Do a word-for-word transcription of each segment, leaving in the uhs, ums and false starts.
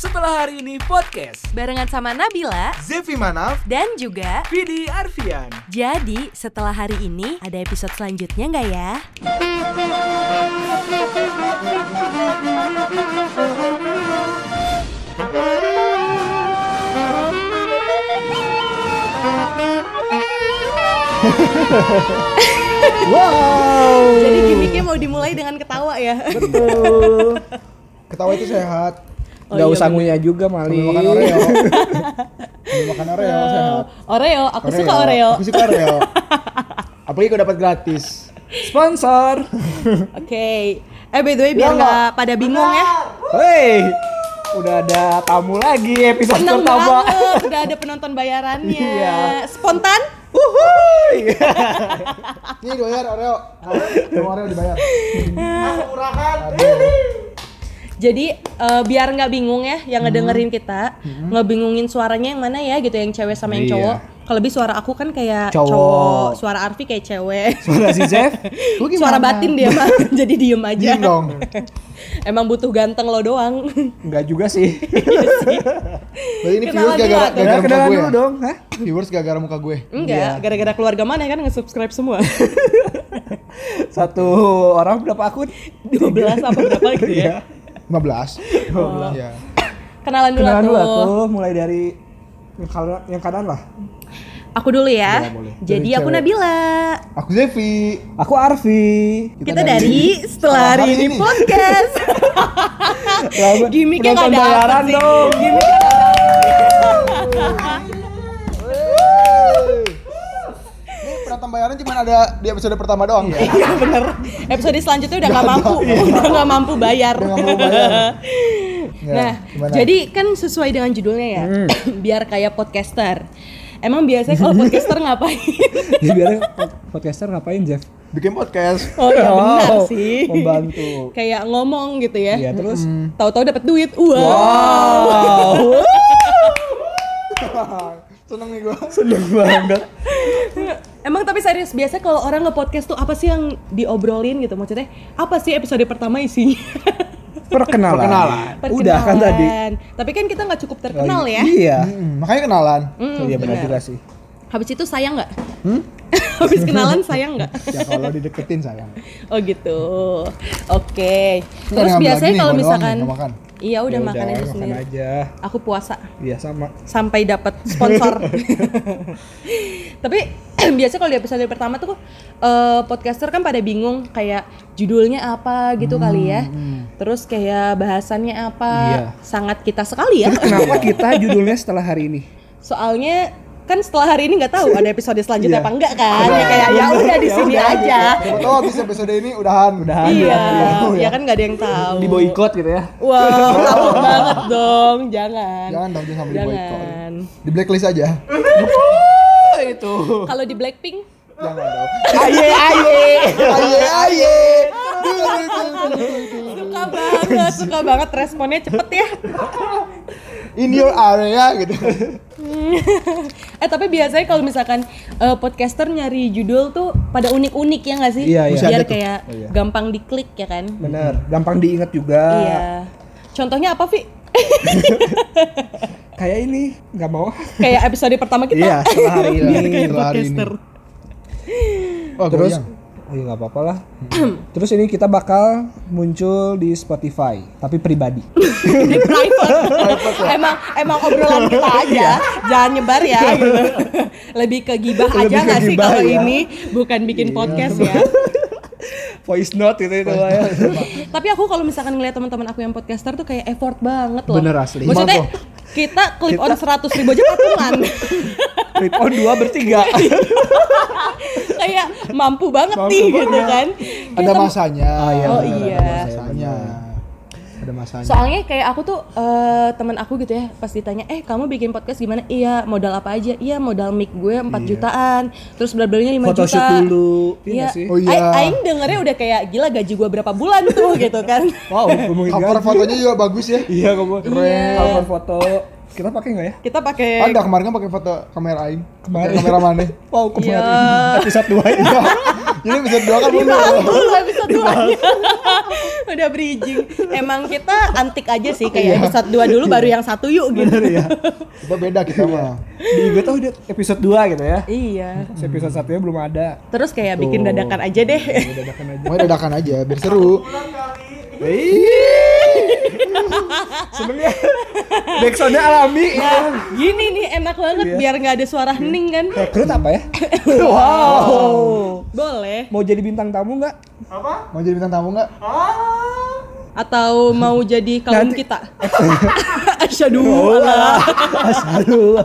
Setelah Hari Ini Podcast barengan sama Nabila, Zefi Manaf, dan juga Vidi Arfian. jadi setelah hari ini ada episode selanjutnya nggak ya? wow. Jadi gimmicknya mau dimulai dengan ketawa ya? Betul. Ketawa itu sehat. Oh, Nggak iya usah bener. ngunyah juga Mali. Sambil makan Oreo. Sambil makan Oreo sehat. Oreo, aku suka Oreo. Aku suka Oreo. Apalagi kalau dapat gratis. Sponsor. Oke. Eh by the way biar Ya, nggak pada bingung ya. Hei, udah ada tamu lagi episode Seneng pertama. banget, udah ada penonton bayarannya. Iya. Spontan? Wuhui. Nih dibayar Oreo. Mau Oreo dibayar. Aku murahkan. Jadi uh, biar nggak bingung ya yang ngedengerin kita, ngebingungin suaranya yang mana ya gitu, yang cewek sama yang Iya. cowok. Kalau lebih suara aku kan kayak Cowok. cowok, suara Arfi kayak cewek. Suara si Zef. Lu gimana? Suara batin dia mah, jadi diem aja. Diem dong. Emang butuh ganteng lo doang. Enggak juga sih. Berarti ini Kenalan viewers gara-gara dulu, gara-gara muka Kenalan gue dulu ya? dong, hah? Viewers gara-gara muka gue. Enggak, gara-gara keluarga mana kan nge-subscribe semua. Satu orang berapa akun? dua belas apa berapa gitu ya. lima belas. Oh. Iya. Kenalan dulu Kenalan dulu tuh. tuh, mulai dari yang kanan, yang kanan lah. Aku dulu ya. Iya, boleh. Jadi Dari aku cewek. Nabila. Aku Zefi. Aku Arfi. Kita, dari setelah hari ini podcast. Gimiknya nggak Penonton dapet bayaran sih. dong. Gimiknya nggak Ini penonton bayaran cuma ada di episode pertama doang ya. Iya bener. Episode selanjutnya udah nggak mampu, udah nggak mampu bayar. Udah nggak mau bayar. Ya, Nah, gimana? jadi kan sesuai dengan judulnya ya, biar kayak podcaster. Emang biasanya kalau podcaster ngapain? Jadi biar podcaster ngapain, Jeff? bikin podcast. Oh ya benar Oh, sih. membantu. Kayak ngomong gitu ya. Iya, terus Tahu-tahu dapat duit. Wow. wow. Seneng nih gue. Seneng banget. Emang tapi serius, biasa kalau orang nge-podcast tuh apa sih yang diobrolin gitu? Maksudnya apa sih episode pertama isinya? Perkenalan. Perkenalan. Udah kan tadi. Perkenalan. Tapi kan kita nggak cukup terkenal ya. Iya. Hmm, makanya kenalan. Hmm, Iya benar benar. juga sih. Habis itu sayang nggak? Hmm? Habis kenalan sayang nggak? Ya kalau dideketin sayang. Oh gitu. Oke. Nggak Terus ngambil biasanya lagi nih, kalau gua doang misalkan, nih, nggak makan. iya udah Ya makan aja makan sendiri. aja. Aku puasa Iya sama. sampai dapat sponsor. Tapi biasa kalau di episode pertama tuh eh, podcaster kan pada bingung kayak judulnya apa gitu kali ya. Terus kayak bahasannya apa. Iya. Sangat kita sekali ya. Terus kenapa kita judulnya setelah hari ini? Soalnya kan setelah hari ini nggak tahu ada episode selanjutnya Iya. apa enggak kan. Ya kayak ya udah di sini aja. Siapa tahu habis episode ini udahan. Udahan. Iya, ya. ya kan nggak ada yang tahu. Di boykot gitu ya. Wow, takut banget dong, jangan. Jangan dong, jangan sampai di boykot. Jangan. Di blacklist aja. Itu. Kalau di Blackpink, Jangan dong. Aye aye. Aye aye. suka banget, suka banget responnya cepet ya. In your area gitu. Eh tapi biasanya kalau misalkan eh, podcaster nyari judul tuh pada unik-unik ya nggak sih? Iya, iya. Masih Biar ada tuh. kayak Oh, iya. gampang diklik ya kan? Bener. Gampang diingat juga. Iya. Contohnya apa, Vi? Kayak ini nggak mau. Kayak episode pertama kita. Iya setelah hari ini. Biar kayak Setelah hari ini. podcaster. Oh, Terus, goyang. oh iya nggak apa-apa lah. Terus ini kita bakal muncul di Spotify, tapi pribadi. Di private. emang emang obrolan kita aja, jangan nyebar ya gitu. Lebih ke gibah Lebih aja ke nggak sih gibah kalau ya. ini bukan bikin podcast ya. Voice note itu itu lah ya. Tapi aku kalau misalkan ngeliat teman-teman aku yang podcaster tuh kayak effort banget loh. Bener asli. Maksudnya Gimana kita clip on seratus ribu aja patungan. Clip on dua bertiga. Kayak mampu banget Mampu nih banget. gitu kan. Ada Kita- masanya. iya, Oh bener, iya. ada Masanya. Ada masanya. Soalnya kayak aku tuh eh, teman aku gitu ya, pas ditanya, "Eh, kamu bikin podcast gimana?" "Iya, modal apa aja?" "Iya, modal mic gue empat jutaan." Terus bla-blanya lima juta. Photoshoot dulu. Iya Iya. nggak sih? Oh iya. A- Aing dengernya udah kayak gila gaji gue berapa bulan tuh gitu kan. Wow, ngomongin Cover gaji. fotonya juga bagus ya. Iya, kamu. Iya. Cover foto. Kita pakai nggak ya? Kita pakai Ada kemarin kan pakai foto kamera Aing. Kemarin. Pakai kamera mana? Wow, kemarin. Iya. Episode dua ini. Jadi episode dua kan mundur. Dibahas dulu episode dua-nya. Udah bridging. Emang kita antik aja sih kayak episode dua dulu baru yang satu yuk gitu. ya. Kita beda kita mah. Di gue tuh udah episode dua gitu ya. Iya. Terus episode satunya belum ada. Terus kayak bikin dadakan aja deh. Dadakan aja. Mau dadakan aja biar seru. Seneng ya. Backsoundnya alami. Nah, gini nih enak banget Iya. biar nggak ada suara hening kan. Rekrut apa ya? Wow. Boleh. Mau jadi bintang tamu nggak? Mau jadi bintang tamu nggak? Atau mau jadi kaum Nanti. kita? Asyhadu Allah. Asyhadu.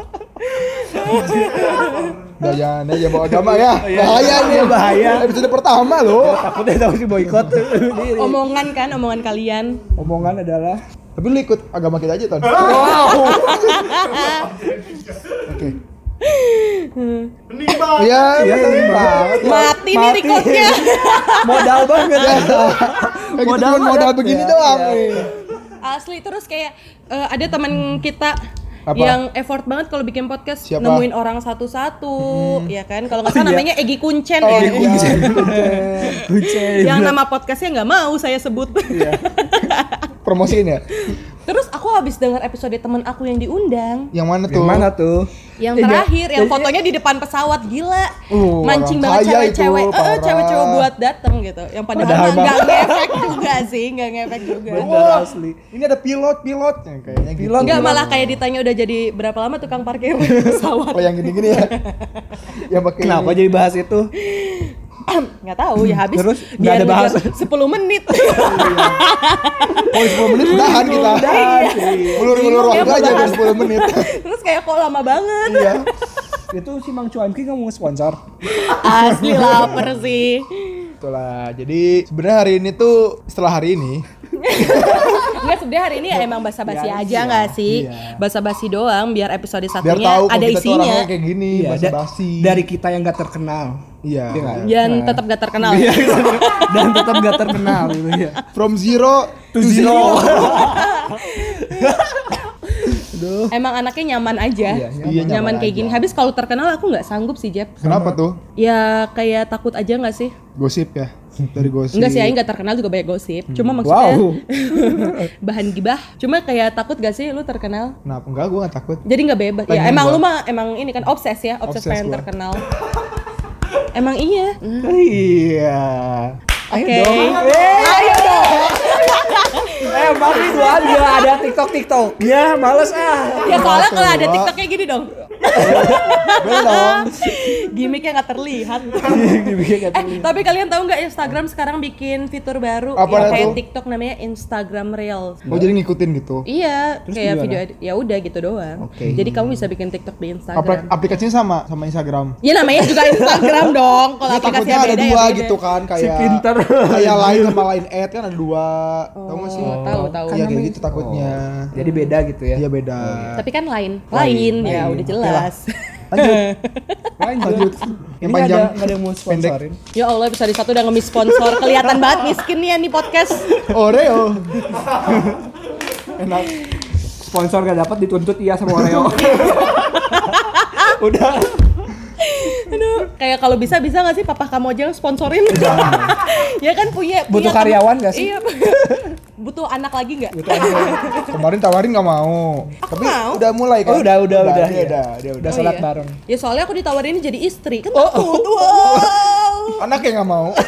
Udah jangan aja bawa agama ya. Bahaya nih. bahaya. Episode pertama loh. Takutnya tahu si boykot. Omongan kan, omongan kalian. Omongan adalah Tapi lu ikut agama kita aja, Ton. Oke. Iya, Iya, bener banget. Mati nih Mati. recordnya. modal banget ya. Kayak gitu Modal cuma modal banget. begini Ya, doang. iya. Asli terus kayak eh, ada teman kita Apa? yang effort banget kalau bikin podcast Siapa? nemuin orang satu-satu, ya kan? Kalau nggak salah Iya. namanya Egi Kuncen Oh, ya. Egi Kuncen. Kucing. Yang nama podcastnya nggak mau saya sebut. Promosiin ya. Terus aku habis dengar episode temen aku yang diundang, Yang mana tuh? Yang mana tuh? yang Eh, terakhir, ja- yang jadi- fotonya di depan pesawat, gila. Uh, Mancing orang banget kaya cewek-cewek, itu, eh parah. cewek-cewek buat dateng gitu. Yang padahal Padahal mah nggak mah- ngefek juga sih, nggak ngefek juga. Bener asli. Ini ada pilot-pilot yang kayaknya gitu. Pilot. Enggak, malah kayak ditanya udah jadi berapa lama tukang parkir pesawat. Oh, yang gini-gini ya. Yang pakai Kenapa jadi bahas itu? Nggak tahu ya habis Terus, nggak biar ada bahasa. ngejar sepuluh menit. Oh, sepuluh menit udahan kita. Udahan, iya. Ulur-ulur Bingung ya waktu aja bahas. biar sepuluh menit. Terus kayak kok lama banget. Iya. Itu si Mang Cuanki nggak mau sponsor. Asli lapar sih. Itulah. Jadi sebenarnya hari ini tuh setelah hari ini Enggak, sebenarnya hari ini ya emang basa-basi Biar aja iya, nggak sih? iya. Basa-basi doang biar episode biar satunya tahu kalau ada kita tuh isinya. orangnya kayak gini, Iya, da- basa-basi. dari kita yang nggak terkenal. Iya. Iya nggak? Dan Nah. tetap gak terkenal. Iya, dan tetap nggak terkenal gitu ya. From zero To zero. Emang anaknya nyaman aja. Iya, nyaman. Iya, nyaman, nyaman kayak aja. gini. Habis kalau terkenal aku nggak sanggup sih, Jeb. Kenapa tuh? Ya kayak takut aja nggak sih? Gosip ya. Dari gosip. Enggak sih, Aing nggak terkenal juga banyak gosip. Cuma maksudnya Wow. bahan gibah. Cuma kayak takut gak sih lu terkenal? Kenapa? Enggak, gua enggak takut. Jadi nggak bebas. Ya Pengen emang gua. lu mah emang ini kan obses ya, obses, Obses pengen gua. terkenal. Emang iya. Iya. Ayo Oke. dong. Ayo dong. Eh, Bang Ridwan juga ada TikTok TikTok. Ya, males ah. Ya soalnya kalau ada Coba. TikToknya gini dong. Boleh dong. Gimiknya nggak terlihat. Dibikin kayak Eh, tapi kalian tahu nggak Instagram sekarang bikin fitur baru Apa yang itu? kayak TikTok namanya Instagram Reels. Oh, jadi ngikutin gitu. Iya, Terus kayak gimana? video edit- ya udah gitu doang. Oke. Jadi kamu bisa bikin TikTok di Apli- Instagram. aplikasinya sama sama Instagram. Ya namanya juga Instagram dong. Kalau Ya, aplikasinya takutnya ada beda dua ya beda. gitu kan kayak Si pinter. kayak lain sama lain ad kan ada dua. Tahu nggak sih? Oh, tahu tahu. Iya kayak gitu takutnya. Jadi beda gitu ya. Iya beda. Tapi kan lain, lain, ya udah jelas. Lanjut. Lanjut. Yang Ini panjang, ada nggak ada yang mau sponsorin. Ya Allah, episode satu udah ngemis sponsor. Kelihatan banget miskinnya nih podcast. Oreo. Enak. Sponsor gak dapat dituntut iya sama Oreo. Udah. Aduh, kayak kalau bisa bisa nggak sih papa kamu aja yang sponsorin? Ya kan punya, punya Butuh tem- karyawan nggak sih? Iya. Butuh anak lagi nggak? Gitu aja. Kemarin tawarin nggak mau. Tapi mau. udah mulai kan? Oh, udah, udah, udah. Dia Iya. udah, dia udah. Udah Oh, sholat iya. bareng. Ya soalnya aku ditawarin jadi istri kan Oh, takut. Wow. Anak yang nggak mau.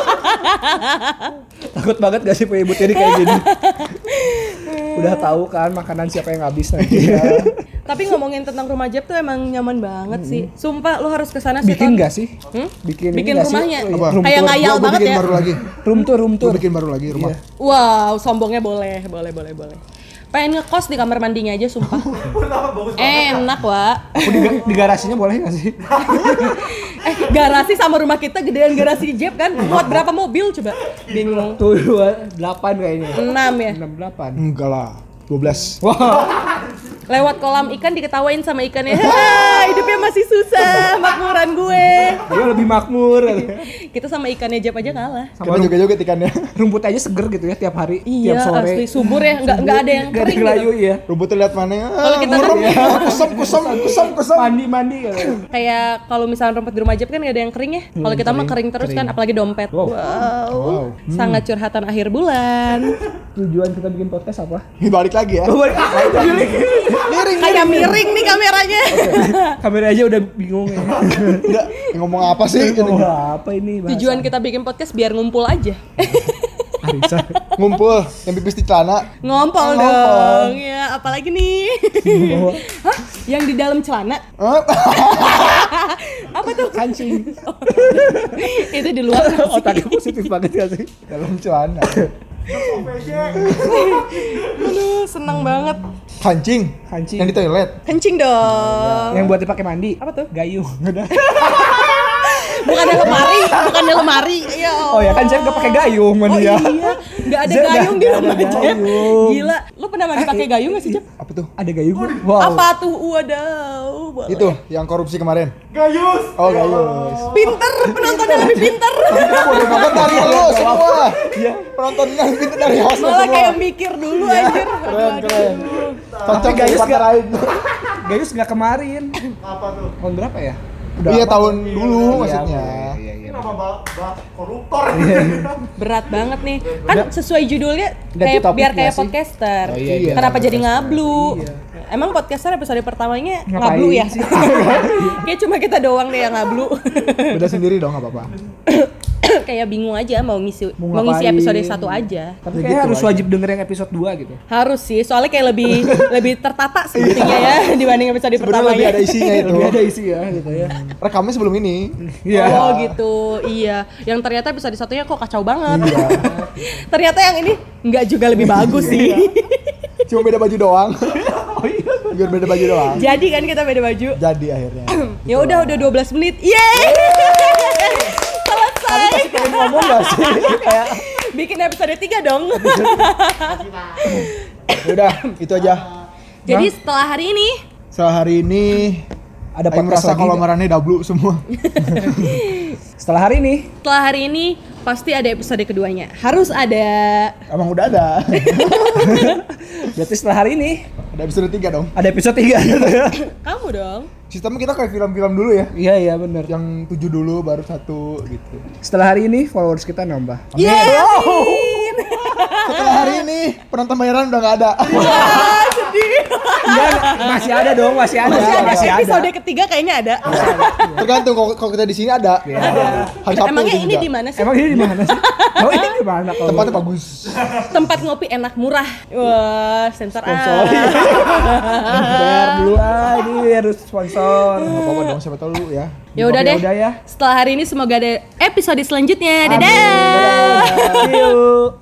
Takut banget gak sih punya ibu tiri kayak gini? Udah tahu kan makanan siapa yang habis nanti. Tapi ngomongin tentang rumah Jeb tuh emang nyaman banget sih. Sumpah lu harus kesana sih. Bikin Ton. gak sih? Hmm? Bikin, Bikin ini nggak sih? rumahnya. Oh, iya. Apa? Room Kayak tour. ngayal Gua- gua banget bikin ya. baru lagi. Room tour, room Gue tour. bikin baru lagi rumah. Iya. Wow, sombongnya boleh, boleh, boleh, boleh. Pengen ngekos di kamar mandinya aja sumpah. Enak, Wak. Aku di, di garasinya boleh gak sih? Eh, garasi sama rumah kita gedean garasi Jeb kan? Muat berapa mobil coba? Bingung. Tuh dua delapan kayaknya. enam ya. Enam delapan. Enggak lah. dua belas. Wah. Lewat kolam ikan diketawain sama ikannya. Hah, hidupnya masih susah makmuran gue. Dia lebih makmur. Kita sama ikannya Jep aja kalah. Kita joget-joget ikannya. Rumput aja seger gitu ya tiap hari, Iya, tiap sore. asli subur ya, nggak nggak ada yang Nggak ada kering yang layu gitu. ya. Rumputnya lihat mana? Kalau kita kan kusam kusam kusam kusam. Mandi mandi gitu. kayak kalau misalnya rumput di rumah Jep kan nggak ada yang kering ya. Kalau kita mah kering terus kan, apalagi dompet. Wow. Wow, sangat curhatan akhir bulan. Tujuan kita bikin podcast apa? Ini balik lagi ya. Miring, kayak miring nih kameranya. Kamera aja udah bingung ya. Udah ngomong apa sih? Oh, apa ini bahasa? Tujuan kita bikin podcast biar ngumpul aja. Arisa. Ngumpul yang pipis di celana. Ngompol Ngompol. dong. Ya, apalagi nih? Hah? Yang di dalam celana? Hah? Apa tuh? Kancing. Itu di luar. Otaknya positif banget gak sih? Dalam celana. Aduh, seneng banget. Kancing. Kancing. Yang di toilet. Kencing dong. Yang buat dipakai mandi. Apa tuh? Gayung. Bukannya lemari, bukannya lemari. Ya Allah. Oh ya kan Jeff gak pakai gayung Oh mandi iya, ya. nggak ada Jeff gayung di nggak ada rumah Jeff. gayung. Gila, lu pernah mandi pakai gayung nggak sih Jeff? Apa tuh? Ada gayung. Wow. Apa tuh? Wadaw. boleh. Itu yang korupsi kemarin. Gayus. Oh, Gayus. Pinter, penontonnya lebih pinter. Bodoh banget dari lo semua. Iya. Penontonnya lebih pinter dari host Malah semua. kayak mikir dulu anjir. Keren, keren. Tapi Gayus gak, Gayus gak kemarin. Apa tuh? Tahun berapa ya? Iya lama. tahun dulu Iya, maksudnya. Iya, iya, Kenapa bah, bah koruptor? Berat banget nih. Kan sesuai judulnya Ganti kayak topik biar nggak kayak sih? podcaster. Oh, iya, iya. Kenapa jadi ngablu? Emang podcaster episode pertamanya Ngapain ngablu ya? sih? Kayak cuma kita doang deh yang ngablu. Beda sendiri dong, enggak apa-apa. Kayak bingung aja mau ngisi Mau mau, ngisi ngapain? episode satu aja. Tapi Ya kayaknya gitu harus aja. wajib denger yang episode dua gitu. Harus sih, soalnya kayak lebih lebih tertata sepertinya ya dibanding episode Sebenarnya pertamanya. lebih ada isinya itu. Lebih ada isi ya gitu ya. Rekamnya sebelum ini. Iya. Oh gitu, iya. Yang ternyata episode satunya kok kacau banget. Ternyata yang ini nggak juga lebih bagus sih. Cuma beda baju doang. Oh iya. Biar beda baju doang. Jadi kan kita beda baju. Jadi akhirnya. Ya udah udah dua belas menit. Yeay. Selesai. Pengen ngomong gak sih? Kayak Bikin episode tiga dong. Ya udah, itu aja. Jadi setelah hari ini Setelah hari ini ada Aing podcast merasa lagi kalau nggak? marahnya dablu semua. Setelah hari ini setelah hari ini pasti ada episode keduanya. Harus ada. Emang udah ada. berarti setelah hari ini Ada episode tiga dong. ada episode tiga gitu ya. Kamu dong. Sistemnya kita kayak film-film dulu ya. Iya iya benar. Yang tujuh dulu baru satu gitu. Setelah hari ini followers kita nambah. Yeay. Setelah hari ini penonton bayaran udah nggak ada. Ah, sedih. Enggak, masih ada dong, masih ada. Masih ada Masih ada. episode ketiga kayaknya ada. Tergantung kalau kalau kita di sini ada. Hari Sabtu Emangnya itu ini juga. di mana sih? Emang ini di mana sih? Oh, ini di mana kalau? Tempatnya bagus. Tempat ngopi enak murah. Wah, sensor A. Bayar dulu ah, ini harus sponsor. Nggak apa-apa dong, siapa tahu lu ya. Ya udah Oke, deh. udah ya. Setelah hari ini semoga ada episode selanjutnya. Dadah. Dadah. See you.